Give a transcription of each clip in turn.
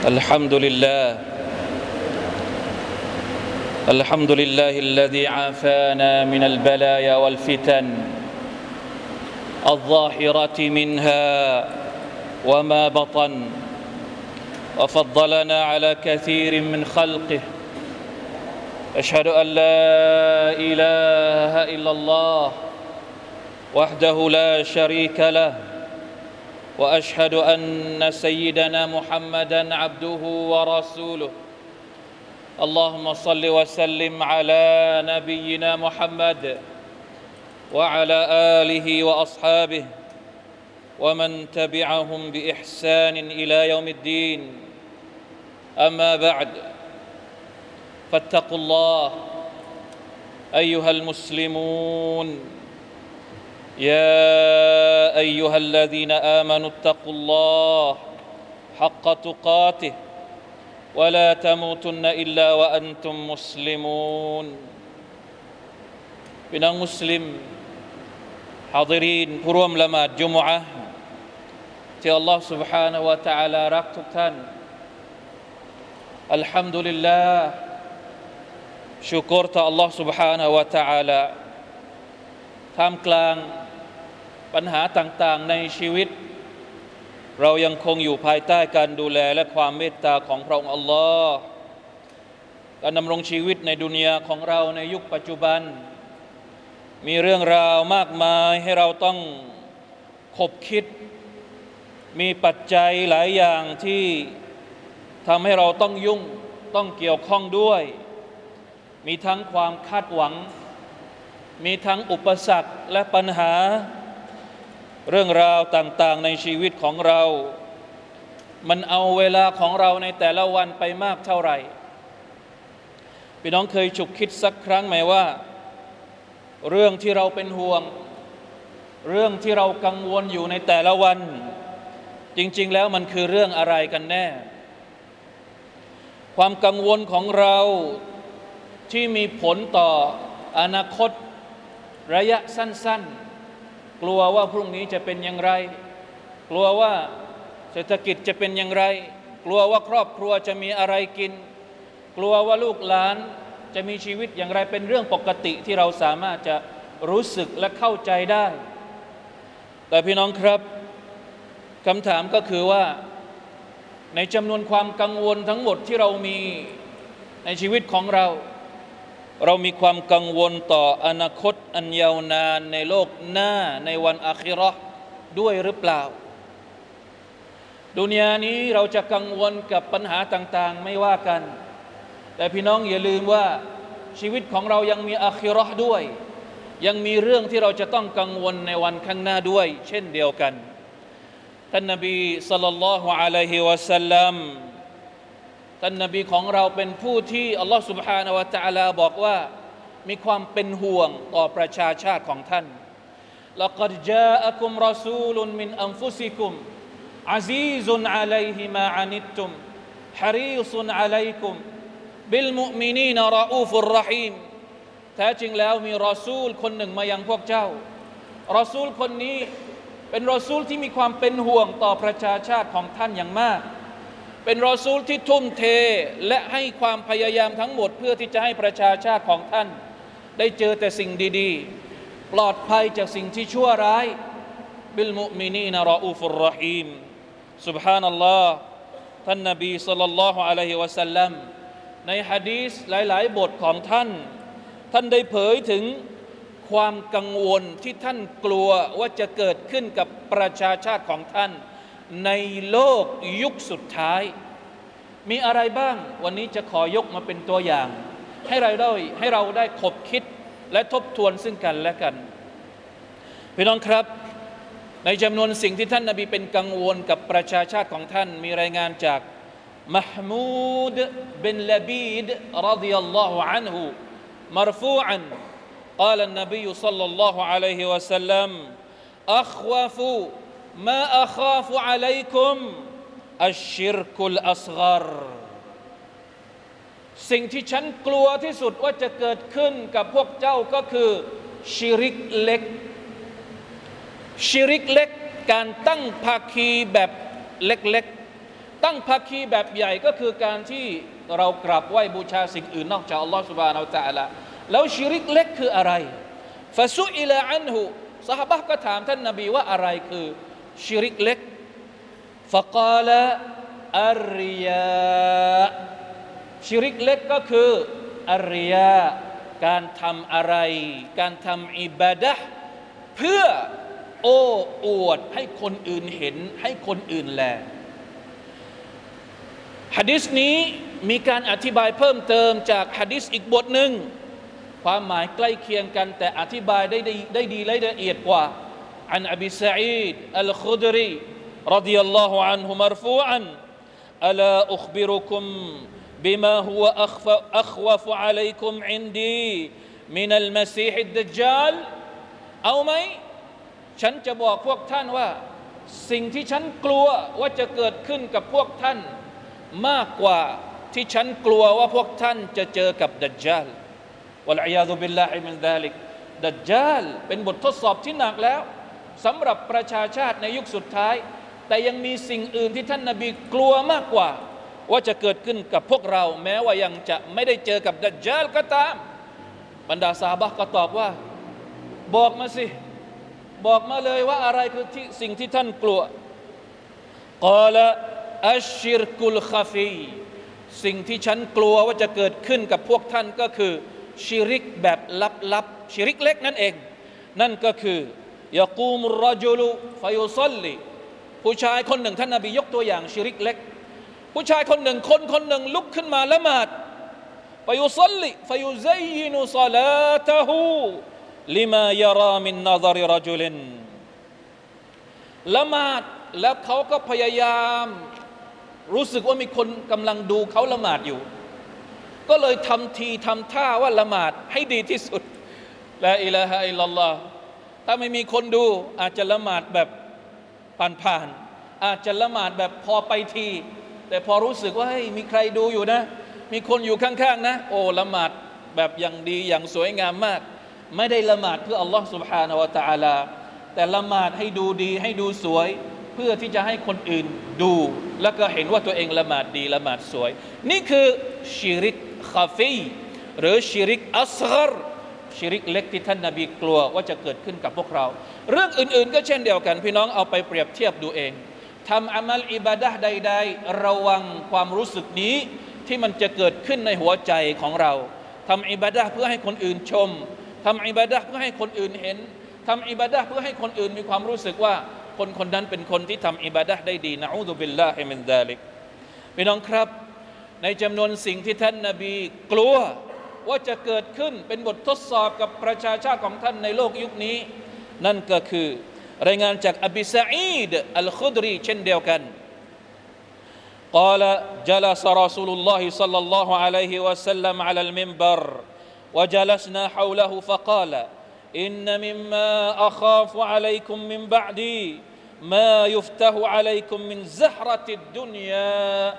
الحمد لله الذي عافانا من البلايا والفتن الظاهرة منها وما بطن وفضلنا على كثير من خلقه أشهد أن لا إله إلا الله وحده لا شريك له وأشهد أن سيدنا محمدًا عبده ورسوله اللهم صل وسلم على نبينا محمد وعلى آله وأصحابه ومن تبعهم بإحسان إلى يوم الدين أما بعد فاتقوا الله أيها المسلمون يا أيها الذين آمنوا اتقوا الله حق تقاته ولا تموتن إلا وأنتم مسلمون พี่น้องมุสลิมฮาฎิรีนผู้ร่วมละหมาดจุมอะห์ที่อัลลอฮฺ سبحانه และ تعالى รักทุกท่านอัลฮัมดุลิลลาห์ชุกรต่ออัลลอฮฺ سبحانه และ تعالى ท่ามกลางปัญหาต่างๆในชีวิตเรายังคงอยู่ภายใต้การดูแลและความเมตตาของพระองค์อัลลอฮ์การดำรงชีวิตในดุนยาของเราในยุคปัจจุบันมีเรื่องราวมากมายให้เราต้องคบคิดมีปัจจัยหลายอย่างที่ทำให้เราต้องยุ่งต้องเกี่ยวข้องด้วยมีทั้งความคาดหวังมีทั้งอุปสรรคและปัญหาเรื่องราวต่างๆในชีวิตของเรามันเอาเวลาของเราในแต่ละวันไปมากเท่าไหร่พี่น้องเคยฉุกคิดสักครั้งไหมว่าเรื่องที่เราเป็นห่วงเรื่องที่เรากังวลอยู่ในแต่ละวันจริงๆแล้วมันคือเรื่องอะไรกันแน่ความกังวลของเราที่มีผลต่ออนาคตระยะสั้นๆกลัวว่าพรุ่งนี้จะเป็นอย่างไรกลัวว่าเศรษฐกิจจะเป็นอย่างไรกลัวว่าครอบครัวจะมีอะไรกินกลัวว่าลูกหลานจะมีชีวิตอย่างไรเป็นเรื่องปกติที่เราสามารถจะรู้สึกและเข้าใจได้แต่พี่น้องครับคำถามก็คือว่าในจำนวนความกังวลทั้งหมดที่เรามีในชีวิตของเรามีความกังวลต่ออนาคตอันยาวนานในโลกหน้าในวันอาคิเราะห์ด้วยหรือเปล่าดุนยานี้เราจะกังวลกับปัญหาต่างๆไม่ว่ากันแต่พี่น้องอย่าลืมว่าชีวิตของเรายังมีอาคิเราะห์ด้วยยังมีเรื่องที่เราจะต้องกังวลในวันข้างหน้าด้วยเช่นเดียวกันท่านนบีศ็อลลัลลอฮุอะลัยฮิวะซัลลัมท่านนบีของเราเป็นผู้ที่อัลลอฮฺ سبحانه และ تعالى บอกว่ามีความเป็นห่วงต่อประชาชาติของท่านละกัดจาอะกุมรอซูลุนมินอันฟุซิกุมอะซีซุนอะลัยฮิมาอานิตตุมฮะรีซุนอะลัยกุมบิลมุอ์มินีนรออูฟุรเราะฮีมแท้จริงแล้วมีรอซูลคนหนึ่งมายังพวกเจ้ารอซูลคนนี้เป็นรอซูลที่มีความเป็นห่วงต่อประชาชาติของท่านอย่างมากเป็นรอซูลที่ทุ่มเทและให้ความพยายามทั้งหมดเพื่อที่จะให้ประชาชาติของท่านได้เจอแต่สิ่งดีๆปลอดภัยจากสิ่งที่ชั่วร้ายบิลมุอ์มินีนรออูฟุรเราะฮีมซุบฮานัลลอฮ์ท่านนบีศ็อลลัลลอฮุอะลัยฮิวะซัลลัมในหะดีษหลายๆบทของท่านได้เผยถึงความกังวลที่ท่านกลัวว่าจะเกิดขึ้นกับประชาชาติของท่านในโลกยุคสุดท้ายมีอะไรบ้างวันนี้จะขอยกมาเป็นตัวอย่างให้เราได้คบคิดและทบทวนซึ่งกันและกันพี่น้องครับในจำนวนสิ่งที่ท่านนบีเป็นกังวลกับประชาชาติของท่านมีรายงานจากมะฮ์มูดบินละบีดรอฎิยัลลอฮุอันฮุمرفوعا قال النبي صلى الله عليه وسلم أخوف ما أخاف عليكم الشرك الأصغر สิ่งที่ฉันกลัวที่สุดว่าจะเกิดขึ้นกับพวกเจ้าก็คือชิริกเล็ก ชิริกเล็กการตั้งภาคีแบบเล็กๆตั้งภาคีแบบใหญ่ก็คือการที่เรากราบไหว้บูชาสิ่งอื่นนอกจากอัลลอฮฺซุบฮานะฮูวะตะอาลาแล้วชิริกเล็กคืออะไรฟะซุอิลาอันฮุซอฮาบะห์ก็ถามท่านนบีว่าอะไรคือชิริกเล็กฟะกาลอัรริยาชิริกเล็กก็คืออัรริยาการทำอะไรการทำอิบาดะห์เพื่อโอ้อวดให้คนอื่นเห็นให้คนอื่นแลหะดีษนี้มีการอธิบายเพิ่มเติมจากหะดีษอีกบทหนึ่งความหมายใกล้เคียงกันแต่อธิบายได้ดีและละเอียดกว่าอันอบีซะอีดอัลคุดรีรฎิยัลลอฮุอันฮุมัรฟูอันอะลาอุคบิรุคุมบิมาฮุวะอัควะฟุอะลัยกุมอินดีมินัลมะซีฮิดดัจญาลเอาไหมฉันจะบอกพวกท่านว่าสิ่งที่ฉันกลัวว่าจะเกิดขึ้นกับพวกท่านมากกว่าที่ฉันกลัวว่าพวกท่านจะเจอกับดัจญาลวัลอียาซุบิลลาฮิมินซาลิกดัจญาลเป็นบททดสอบที่หนักแล้วสำหรับประชาชาติในยุคสุดท้ายแต่ยังมีสิ่งอื่นที่ท่านนบีกลัวมากกว่าว่าจะเกิดขึ้นกับพวกเราแม้ว่ายังจะไม่ได้เจอกับดัจญาลก็ตามบรรดาซอฮาบะห์ก็ตอบว่าบอกมาสิบอกมาเลยว่าอะไรคือสิ่งที่ท่านกลัวกาละอัชชิรกุลคาฟีสิ่งที่ฉันกลัวว่าจะเกิดขึ้นกับพวกท่านก็คือชิริกแบบลับๆชิริกเล็กนั่นเองนั่นก็คือยะกูมุรรจุลุฟะยุศ็อลลิผู้ชายคนหนึ่งท่านนบียกตัวอย่างชิริกเล็กผู้ชายคนหนึ่งคนหนึ่งลุกขึ้นมาละหมาดฟะยุศ็อลลิฟะยุซัยยินุศอลาตะฮูลิมายะรามินนะซริรจุลินละหมาดแล้วเขาก็พยายามรู้สึกว่ามีคนกำลังดูเขาละหมาดอยู่ก็เลยทำทีทำท่าว่าละหมาดให้ดีที่สุดลาอิลาฮะอิลลัลลอฮ์ถ้าไม่มีคนดูอาจจะละหมาดแบบผ่านๆอาจจะละหมาดแบบพอไปทีแต่พอรู้สึกว่าเฮ้ยมีใครดูอยู่นะมีคนอยู่ข้างๆนะโอ้ละหมาดแบบอย่างดีอย่างสวยงามมากไม่ได้ละหมาดเพื่ออัลลอฮ์ سبحانه และ تعالى แต่ละหมาดให้ดูดีให้ดูสวยเพื่อที่จะให้คนอื่นดูแล้วก็เห็นว่าตัวเองละหมาดดีละหมาดสวยนี่คือชิริกคาฟีหรือชิริกอัศฆรชิริกเล็กที่ท่านนบีกลัวว่าจะเกิดขึ้นกับพวกเราเรื่องอื่นๆก็เช่นเดียวกันพี่น้องเอาไปเปรียบเทียบดูเองทำอามัลอิบาดะห์ใดๆระวังความรู้สึกนี้ที่มันจะเกิดขึ้นในหัวใจของเราทำอิบาดะห์เพื่อให้คนอื่นชมทำอิบาดะห์เพื่อให้คนอื่นเห็นทำอิบาดะห์เพื่อให้คนอื่นมีความรู้สึกว่าคนคนนั้นเป็นคนที่ทำอิบาดะห์ได้ดีนะอูซุบิลลาฮิมินซาลิกพี่น้องครับในจำนวนสิ่งที่ท่านนบีกลัวว่าจะเกิดขึ้นเป็นบททดสอบกับประชาชาติของท่านในโลกยุคนี้นั่นก็คือรายงานจากอบีซะอีดอัลคุดรีเช่นเดียวกัน قال جلس رسول الله صلى الله عليه وسلم على المنبر وجلسنا حوله فقال إن مما أخاف عليكم من بعدي ما يفتح عليكم من زهرة الدنيا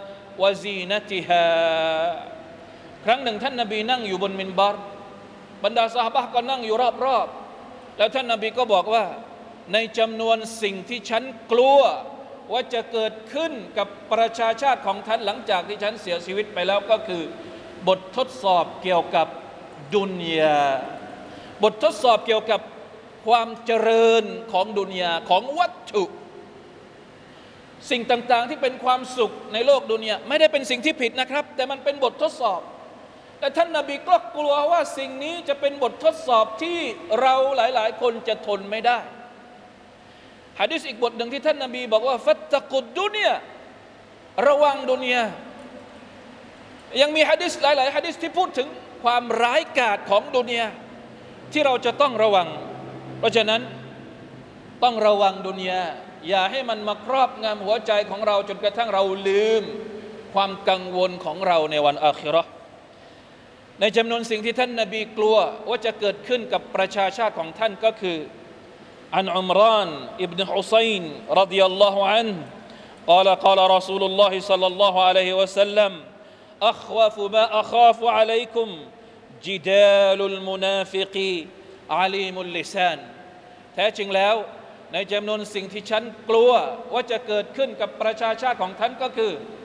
وزينتها ครั้งหนึ่งท่านนบีนั่งอยู่บนมินบัรบรรดาซอฮาบะห์ก็นั่งอยู่รอบๆแล้วท่านนบีก็บอกว่าในจำนวนสิ่งที่ฉันกลัวว่าจะเกิดขึ้นกับประชาชาติของท่านหลังจากที่ฉันเสียชีวิตไปแล้วก็คือบททดสอบเกี่ยวกับดุนยาบททดสอบเกี่ยวกับความเจริญของดุนยาของวัตถุสิ่งต่างๆที่เป็นความสุขในโลกดุนยาไม่ได้เป็นสิ่งที่ผิดนะครับแต่มันเป็นบททดสอบแต่ท่านนบีก็กลัวว่าสิ่งนี้จะเป็นบททดสอบที่เราหลายๆคนจะทนไม่ได้หะดีษอีกบทหนึ่งที่ท่านนบีบอกว่าฟัตตะกุดดุนยาระวังดุนยายังมีหะดีษหลายๆหะดีษที่พูดถึงความร้ายกาจของดุนยาที่เราจะต้องระวังเพราะฉะนั้นต้องระวังดุนยาอย่าให้มันมาครอบงำหัวใจของเราจนกระทั่งเราลืมความกังวลของเราในวันอาคิเราะห์ในจำนวนสิ่งที่ท่านนบีกลัวว่าจะเกิดขึ้นกับประชาชาติของท่านก็คืออันอุมรานอิบนุฮุซัยน์รฎิยัลลอฮุอันฮุ قال قال رسول الله صلى الله عليه وسلم أخوف ما أخاف عليكم جدال المنافق عليم اللسان แท้จริงแล้วในจำนวนสิ่งที่ฉันกลัวว่าจะเกิดขึ้นกับประชาชาติของท่านก็คือ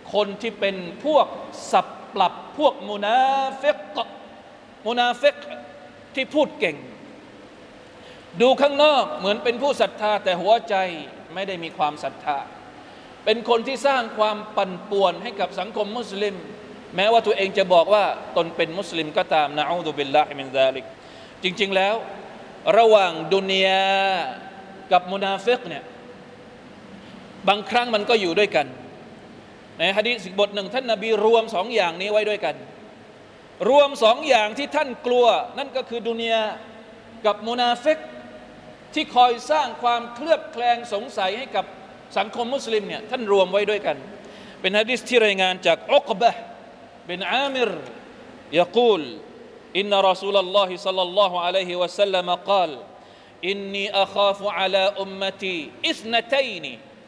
คนที่เป็นพวกสับปรับพวกมุนาฟิกที่พูดเก่งดูข้างนอกเหมือนเป็นผู้ศรัทธาแต่หัวใจไม่ได้มีความศรัทธาเป็นคนที่สร้างความปั่นป่วนให้กับสังคมมุสลิมแม้ว่าตัวเองจะบอกว่าตนเป็นมุสลิมก็ตามนะอูซุบิลลาฮิมินซาลิกจริงๆแล้วระหว่างดุนยากับมุนาฟิกเนี่ยบางครั้งมันก็อยู่ด้วยกันในหะดีษบทหนึ่งท่านนบีรวมสองอย่างนี้ไว้ด้วยกันรวมสองอย่างที่ท่านกลัวนั่นก็คือดุนยากับมุนาฟิกที่คอยสร้างความเคลือบแคลงสงสัยให้กับสังคมมุสลิมเนี่ยท่านรวมไว้ด้วยกันเป็นหะดีษที่รายงานจากอุกบะห์บินอามิร يقول إن رسول الله صلى الله عليه وسلم قال إني أخاف على أمتي اثنتين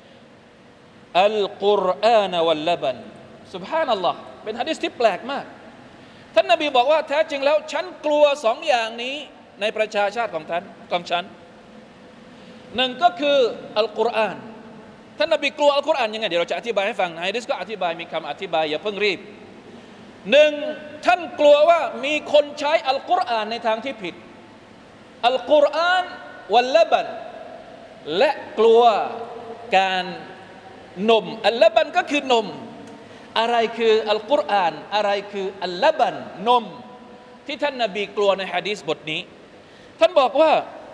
القرآن واللبن سبحان الله เป็นหะดีษที่แปลกมากท่านนบีบอกว่าแท้จริงแล้วฉันกลัวสองอย่างนี้ในประชาชาติของฉันหนึ่งก็คืออัลกุรอานท่านนบีกลัวอัลกุรอานยังไงเดี๋ยวเราจะอธิบายให้ฟังในหะดีษก็อธิบายมีคำอธิบายอย่าเพิ่งรีบหนึ่งท่านกลัวว่ามีคนใช้อัลกุรอานในทางที่ผิดอัลกุรอานวัลละบันและกลัวการนมอัลละบันก็คือนมอะไรคืออัลกุรอานอะไรคืออัลละบันนมที่ท่านนบีกลัวในหะดีษบทนี้ท่านบอกว่า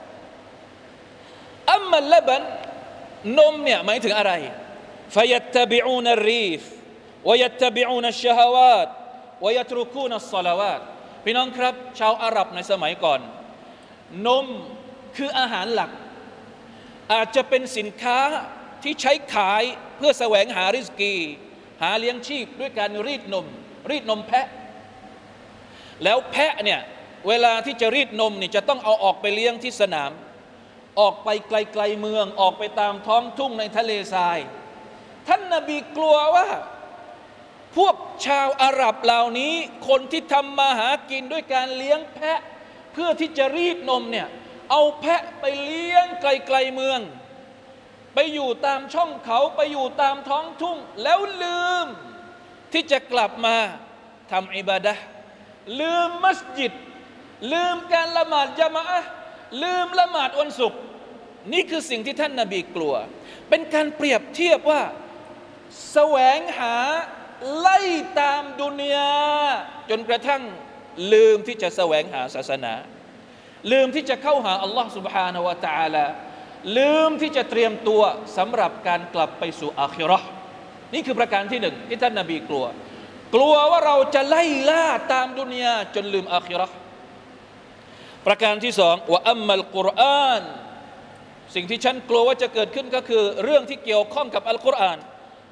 อัมมัลละบันนมเนี่ยหมายถึงอะไรفيتبعون الريف ويتبعون الشهوات ويتركون الصلوات พี่น้องครับชาวอาหรับในสมัยก่อนนมคืออาหารหลักอาจจะเป็นสินค้าที่ใช้ขายเพื่อแสวงหาริสกีหาเลี้ยงชีพด้วยการรีดนมแพะแล้วแพะเนี่ยเวลาที่จะรีดนมนี่จะต้องเอาออกไปเลี้ยงที่สนามออกไปไกลๆเมืองออกไปตามท้องทุ่งในทะเลทรายท่านนบีกลัวว่าพวกชาวอาหรับเหล่านี้คนที่ทำมาหากินด้วยการเลี้ยงแพะเพื่อที่จะรีดนมเนี่ยเอาแพะไปเลี้ยงไกลๆเมืองไปอยู่ตามช่องเขาไปอยู่ตามท้องทุ่งแล้วลืมที่จะกลับมาทำอิบาดะห์ลืมมัสยิดลืมการละหมาดญะมาอะห์ลืมละหมาดวันศุกร์นี่คือสิ่งที่ท่านนบีกลัวเป็นการเปรียบเทียบว่าแสวงหาไล่ตามดุนยาจนกระทั่งลืมที่จะแสวงหาศาสนาลืมที่จะเข้าหาอัลลอฮ์ سبحانه และ تعالى ลืมที่จะเตรียมตัวสำหรับการกลับไปสู่อาคิเราะห์นี่คือประการที่หนึ่งที่ท่านนบีกลัวว่าเราจะไล่ล่าตามดุนยาจนลืมอาคิเราะห์ประการที่สองว่าอัมมัลกุรอานสิ่งที่ฉันกลัวว่าจะเกิดขึ้นก็คือเรื่องที่เกี่ยวข้องกับอัลกุรอาน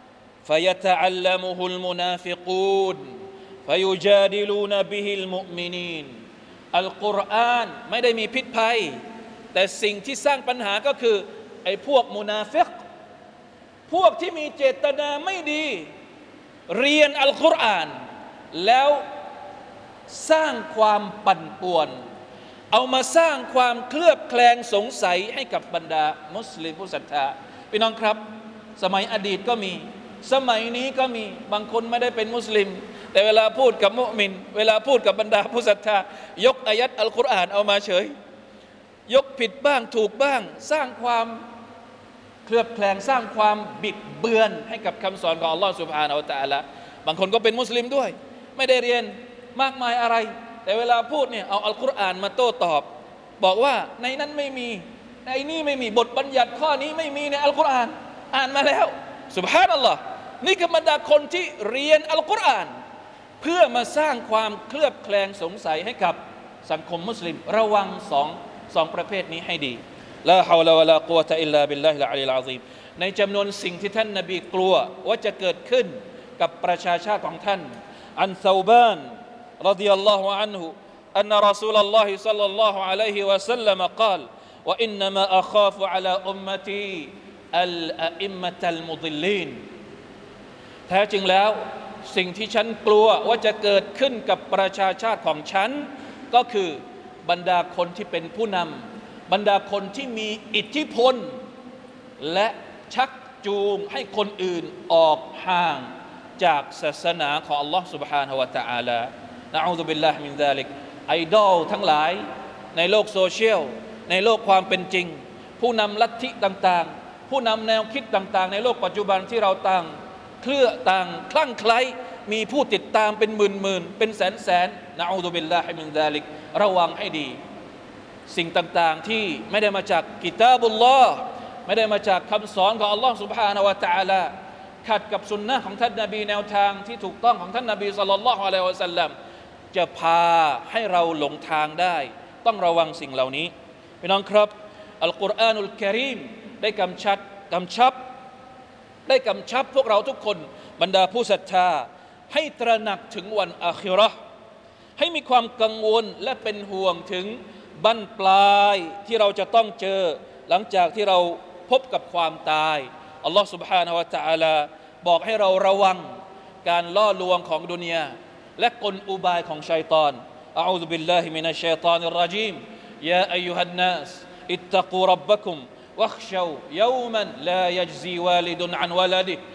فيتعلمه المنافقون فيجادلون به المؤمنين อัลกุรอานไม่ได้มีพิษภัยแต่สิ่งที่สร้างปัญหาก็คือไอ้พวกมุนาฟิกพวกที่มีเจตนาไม่ดีเรียนอัลกุรอานแล้วสร้างความปั่นป่วนเอามาสร้างความเคลือบแคลงสงสัยให้กับบรรดามุสลิมผู้ศรัทธาพี่น้องครับสมัยอดีตก็มีสมัยนี้ก็มีบางคนไม่ได้เป็นมุสลิมแต่เวลาพูดกับมุมินเวลาพูดกับบรรดาผู้ศรัทธายกอายัดอัลกุรอานเอามาเฉยยกผิดบ้างถูกบ้างสร้างความเคลือบแคลงสร้างความบิดเบือนให้กับคำสอนของอัลลอฮฺซุบฮานะฮูวะตะอาลาบางคนก็เป็นมุสลิมด้วยไม่ได้เรียนมากมายอะไรแต่เวลาพูดเนี่ยเอาอัลกุรอานมาโต้ตอบบอกว่าในนั้นไม่มีในนี้ไม่มีบทบัญญัติข้อนี้ไม่มีในอัลกุรอานอ่านมาแล้วซุบฮานัลลอฮ์นี่คือบรรดาคนที่เรียนอัลกุรอานเพื่อมาสร้างความเคลือบแคลงสงสัยให้กับสังคมมุสลิมระวังสองประเภทนี้ให้ดีลาฮาวลาวะลากุวะตะอิลลาบิลลาฮิลอะลีลอะซีมในจำนวนสิ่งที่ท่านนบีกลัวว่าจะเกิดขึ้นกับประชาชาติของท่านอันซาบานรฎิยัลลอฮุอันฮุอันรอซูลุลลอฮิศ็อลลัลลอฮุอะลัยฮิวะซัลลัมกล่าววะอินนัมาอะคาฟุอะลาอุมมะตีอัลอะอิมมะตัลมุฎิลลีนแท้จริงแล้วสิ่งที่ฉันกลัวว่าจะเกิดขึ้นกับประชาชาติของฉันก็คือบรรดาคนที่เป็นผู้นำบรรดาคนที่มีอิทธิพลและชักจูงให้คนอื่นออกห่างจากศาสนาของ Allah سبحانه และ تعالى นะอูซุบิลลาฮิมินซาลิกไอดอลทั้งหลายในโลกโซเชียลในโลกความเป็นจริงผู้นำลัทธิต่างๆผู้นำแนวคิดต่างๆในโลกปัจจุบันที่เราต่างเคลื่อต่างคลั่งไคล้มีผู้ติดตามเป็นหมื่นๆเป็นแสนๆนะอูซุบิลลาฮิมินซาลิกระวังให้ดีสิ่งต่างๆที่ไม่ได้มาจากกิตาบุลลอฮ์ไม่ได้มาจากคำสอนของ Allah سبحانه และ تعالى ขัดกับสุนนะของท่านนบีแนวทางที่ถูกต้องของท่านนบีศ็อลลัลลอฮุอะลัยฮิวะซัลลัมจะพาให้เราหลงทางได้ต้องระวังสิ่งเหล่านี้พี่น้องครับอัลกุรอานุลกะรีมได้กำชับพวกเราทุกคนบรรดาผู้ศรัทธาให้ตระหนักถึงวันอาคิเราะห์ให้มีความกังวลและเป็นห่วงถึงบั้นปลายที่เราจะต้องเจอหลังจากที่เราพบกับความตายอัลลอฮฺ سبحانه และ تعالى บอกให้เราระวังการล่อลวงของดุนยาและกลอุบายของชัยฏอนอะอูซุบิลลาฮิมินัชชัยฏอนิรเราะญีมยาอัยยูฮันนัสอิตตะกูร็อบบักุมวัคชาวยอมันลายัจซีวาลิดุนอันวะลาดิฮิ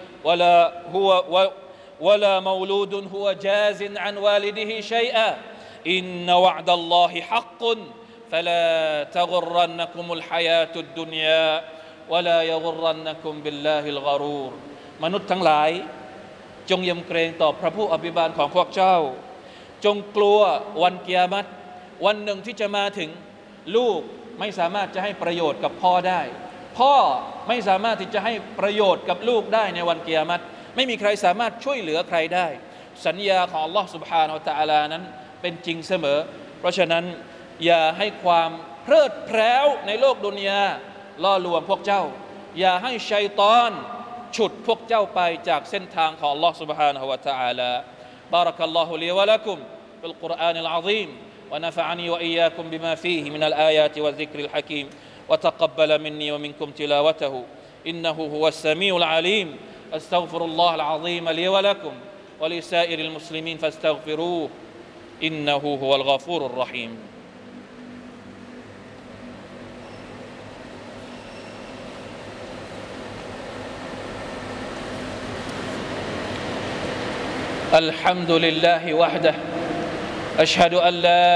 ولا مولود هو جاز عن والده شيئا إن وعد الله حق فلا تغرنكم الحياة الدنيا ولا يغرنكم بالله الغرور มนุษย์ทั้งหลายจงยำเกรงต่อพระผู้อภิบาลของพวกเจ้าจงกลัววันกิยามะฮ์วันหนึ่งที่จะมาถึงลูกไม่สามารถจะให้ประโยชน์กับพ่อได้พ่อไม่สามารถที่จะให้ประโยชน์กับลูกได้ในวันกิยามะฮ์ไม่มีใครสามารถช่วยเหลือใครได้สัญญาของ Allah سبحانه และ تعالى นั้นเป็นจริงเสมอเพราะฉะนั้นอย่าให้ความเพลิดเพลินในโลกดุนยาล่อลวงพวกเจ้าอย่าให้ชัยฏอนฉุดพวกเจ้าไปจากเส้นทางของ Allah سبحانه และ تعالى بارك الله لي ولكم في القرآن العظيم ونفعني وإياكم بما فيه من الآيات والذكر الحكيم وتقبل مني ومنكم تلاوته إنه هو السميع العليم أستغفر الله العظيم لي ولكم ولسائر المسلمين فاستغفروه إنه هو الغفور الرحيم الحمد لله وحده أشهد أن لا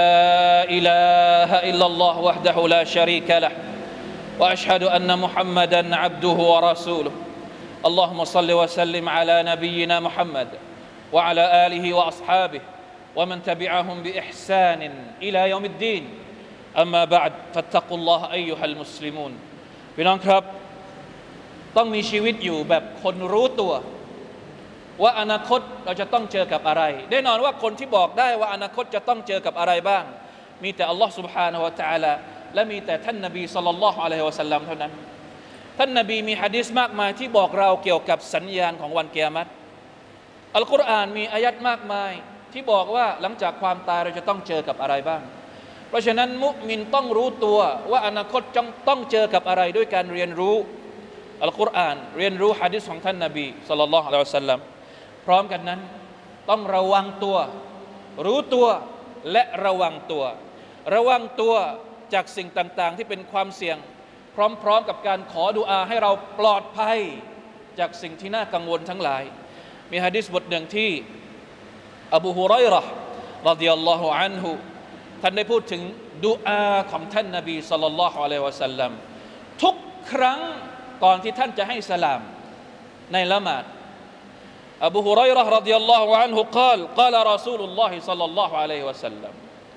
إله إلا الله وحده لا شريك له وأشهد أن محمدًا عبده ورسوله اللهم صل وسلم على نبينا محمد وعلى آله وأصحابه ومن تبعهم بإحسان إلى يوم الدين أما بعد فاتقوا الله أيها المسلمون พี่น้องครับต้องมีชีวิตอยู่แบบคนรู้ตัวว่าอนาคตเราจะต้องเจอกับอะไรแน่นอนว่าคนที่บอกได้ว่าอนาคตจะต้องเจอกับอะไรบ้างมีแต่อัลลอฮฺ سبحانه และ تعالى และมีแต่ท่านนบีศ็อลลัลลอฮุอะลัยฮิวะซัลลัมเท่านั้นท่านนบีมีหะดีษมากมายที่บอกเราเกี่ยวกับสัญญาณของวันกิยามะฮ์อัลกุรอานมีอายัดมากมายที่บอกว่าหลังจากความตายเราจะต้องเจอกับอะไรบ้างเพราะฉะนั้นมุมินต้องรู้ตัวว่าอนาคตต้องเจอกับอะไรด้วยการเรียนรู้อัลกุรอานเรียนรู้หะดีษของท่านนบีศ็อลลัลลอฮุอะลัยฮิวะซัลลัมพร้อมกันนั้นต้องระวังตัวรู้ตัวและระวังตัวจากสิ่งต่างๆที่เป็นความเสี่ยงพร้อมๆกับการขอดุอาให้เราปลอดภัยจากสิ่งที่น่ากังวลทั้งหลายมีหะดีษบทหนึ่งที่อบูฮุรอยเราะห์รอฎิยัลลอฮุอันฮุท่านได้พูดถึงดุอาของท่านนบีศ็อลลัลลอฮุอะลัยฮิวะซัลลัมทุกครั้งก่อนที่ท่านจะให้สลามในละหมาดอบูฮุรอยเราะห์รอฎิยัลลอฮุอันฮุقال رسول الله صلى الله عليه وسلم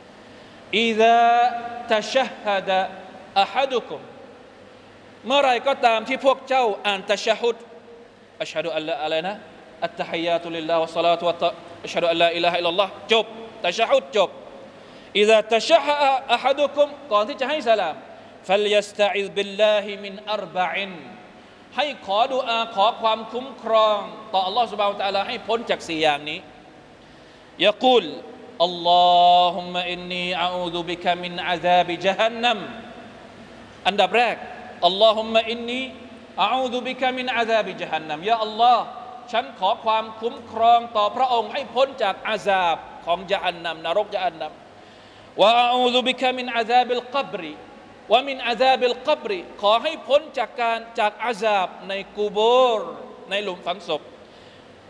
إذا تشهد أحدكم เมื่อไรก็ตามที่พวกเจ้าอ่านตะชะฮุดอัชฮะดุอัลลาอะไรนะอัตตะฮิยาตุลิลลาฮ์วะศอลาตุวะอัชฮะดุอัลลาอิลาฮะอิลลัลลอฮ์จบตะชะฮุดจบ إذا تشهد أحدكم ก่อนที่จะให้สลาม فليستعذ بالله من أربع ให้ขอดุอาขอความคุ้มครองต่อ Allah سبحانه และ تعالى ให้พ้นจาก4อย่างนี้ يقول اللهم إني أعوذ بك من عذاب جهنم อันดับแรกอัลลอฮุมมะอินนีอะอูซุบิกะมินอาซาบิญะฮันนัมยาอัลลอฮ์ฉันขอความคุ้มครองต่อพระองค์ให้พ้นจากอาซาบของญะฮันนัมนรกญะฮันนัมวะอะอูซุบิกะมินอาซาบิลกับรวะมินอาซาบิลกับรขอให้พ้นจากอาซาบในกุโบร์ในหลุมฝังศพ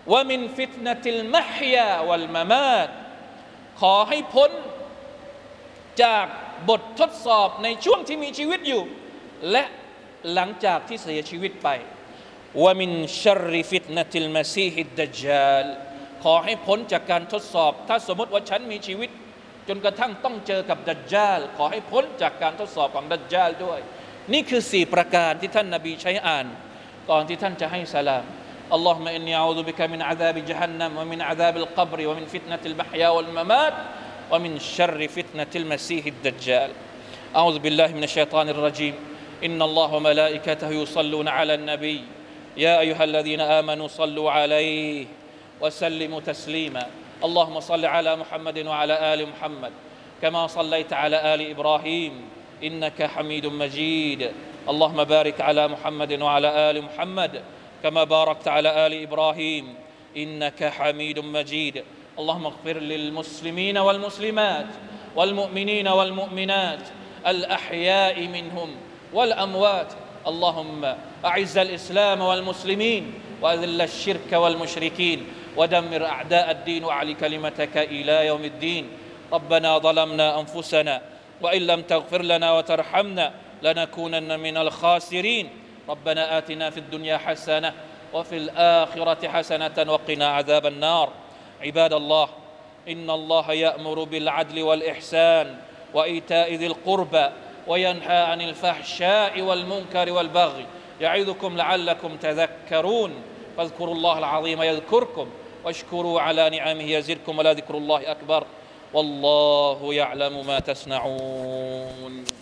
วะมินฟิตนะติลมะฮยาวัลมะมาตขอให้พ้นจากบททดสอบในช่วงที่มีชีวิตอยู่และหลังจากที่เสียชีวิตไปวะมินชัรริฟิตนะติลมะซีฮิดดัจญาลขอให้พ้นจากการทดสอบถ้าสมมติว่าฉันมีชีวิตจนกระทั่งต้องเจอกับดัจญาลขอให้พ้นจากการทดสอบของดัจญาลด้วยนี่คือ4ประการที่ท่านนบีใช้อ่านก่อนที่ท่านจะให้สลามอัลลอฮุมะอินนีอะอูซุบิกะมินอะซาบิญะฮันนัมวะมินอะซาบิลกับรวะมินฟิตนะติลมะฮยาวัลมะมาตวะมินชัรริฟิตนะติลมะซีฮิดดัจญาลอะอูซุบิลลาฮิมินัชชัยฏอนิรเราะญีมอินนัลลอฮะวะมะลาอิกะตุฮุยุศ็อลลูนอะลันนบียาอัยยูฮัลลซีนาอามานูศ็อลลูอะลัยฮิวะซัลลิมูตัสลีมาاللهم صل على محمد وعلى آل محمد كما صليت على آل إبراهيم إنك حميد مجيد اللهم بارك على محمد وعلى آل محمد كما باركت على آل إبراهيم إنك حميد مجيد اللهم اغفر للمسلمين والمسلمات والمؤمنين والمؤمنات الأحياء منهم والأموات اللهم أعز الإسلام والمسلمين وأذل الشرك والمشركين ودمر أعداء الدين وأعل كلمتك إلى يوم الدين ربنا ظلمنا أنفسنا وإن لم تغفر لنا وترحمنا لنكونن من الخاسرين ربنا آتنا في الدنيا حسنة وفي الآخرة حسنة وقنا عذاب النار عباد الله إن الله يأمر بالعدل والإحسان وإيتاء ذي القربى وينهى عن الفحشاء والمنكر والبغي يعظكم لعلكم تذكرون فاذكروا الله العظيم يذكركم واشكروا على نعمه يزدكم ولذكر الله أكبر والله يعلم ما تصنعون